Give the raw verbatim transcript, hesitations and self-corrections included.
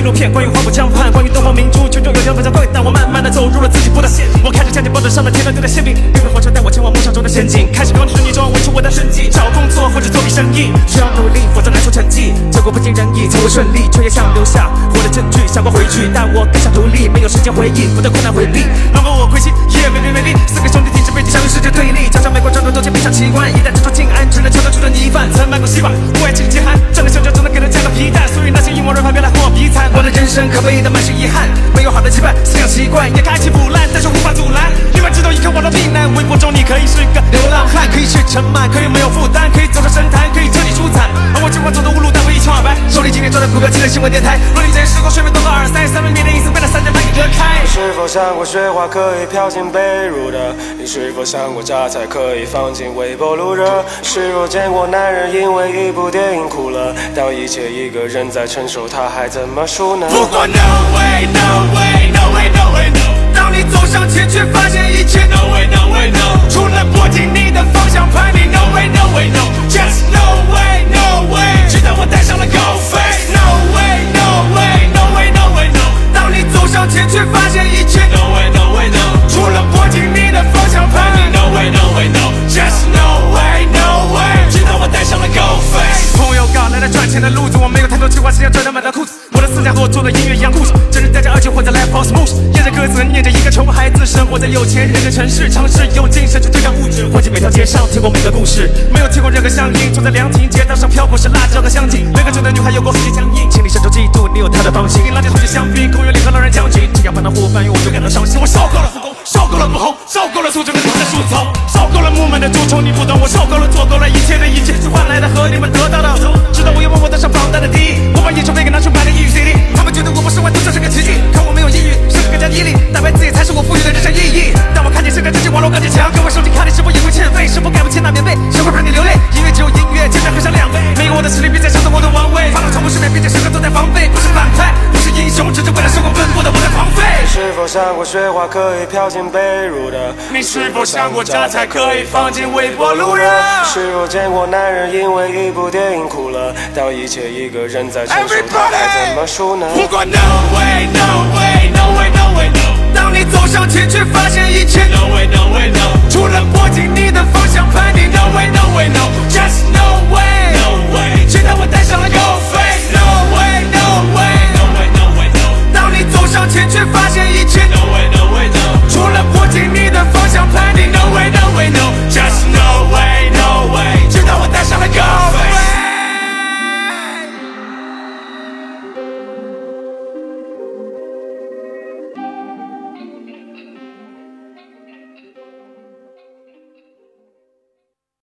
录片，关于黄浦江畔，关于东方明珠，群众有条非常贵，但我慢慢的走入了自己布的陷阱。我开始将钱包着上了天上丢的馅饼，绿皮火车带我前往梦想中的仙境，开始搞你顺逆中维持我的生计，找工作或者做笔生意，需要努力，否则难出成绩。结果不尽人意，才会顺利，却也想留下我的证据，想过回去，但我更想独立，没有时间回忆我的困难回避。如果我归西，也没没没力，四个兄弟挺直背脊，相遇世界对立，加上美国战斗都见非常奇观，一旦蜘蛛进安，只能敲得出的泥饭，曾买过西瓜，不爱吃饥寒，赚个香蕉就能给他加个皮蛋，所以那些英文人牌别来和我比惨。我的人生可悲的满是遗憾，没有好的羁绊，思想习惯也该起腐烂，但是无法阻拦。另外知道依靠我的避难，微博中你可以是个流浪汉，可以是尘螨，可以没有负担，可以走上神坛，可以彻底出彩。而我计划走的无路，但我一穷二白，手里今天抓着股票，记得新闻电台。若你这时光睡眠多个耳塞，三分面的意思被那三点半给隔开。 你是否想过雪花可以飘进被褥的？你是否想过榨菜可以放进微波炉热？是否见过男人因为一部电影哭了？当一切一个人在承受，他还怎么输呢？ 不过 no way no way no way no way no， 当你走上前却发现一切 no way no way no， 除了握紧你的方向盘，你 no way no way no just no way no way， 直到我戴上了高飞 no way no way no way no way no， 当你走上前却发现一切 no way no way no， 除了握紧你的方向盘，你 no way no way no just no way no way， 直到我戴上了高飞。 朋友搞来了赚钱的路子，我没有太多计划，只想赚到满大裤子。我的思想和我做的音乐一样固执，真人带着耳机混在 live house motion， 念着歌词，念着一个穷孩子生活在有钱人的城市，尝试用精神去对抗物质，混迹每条街上，听过每个故事，没有听过任何乡音，住在凉亭街道上飘过是辣椒和香精，每个酒的女孩有过世界僵硬，心里深受嫉妒，你有她的芳心，垃圾桶里香槟，公园里和老人将军，只要搬到湖畔，我就感到伤心。我受够了复工，受够了不红，受够了苏州跟他的树丛，受够了木门的蛀虫，你不懂，我受够了做够了一切的一切，是换来的和你们得到的，直到我又问我登上榜单的第一，我把演唱费给拿去买了抑郁 C D， 他们觉得我不是万能就是个奇迹，可我没有抑郁，甚至更加毅力，打败自己才是我赋予的人生意义。当我看见世界这些网络钢铁强，各位手机卡里是否也会欠费？是否盖不起那棉被？谁会陪你流泪？音乐只有音乐，精神喝上两杯，没有我的实力，别再抢走我的王位。发了从不失眠，并且时刻都在防备，不是反派，不是英雄，只是为了生活奔波的我在狂吠。 你是否想过雪花可以飘进被褥的？ 你是否想过榨菜可以放进微波炉热？ 是否见过男人因为一部电影哭了？当一切一个人在承受，他还怎么输呢？ 不过 no way no way no way no way no， 当你走上前却发现一切 no way no way no， 除了握紧你的方向盘，你 no way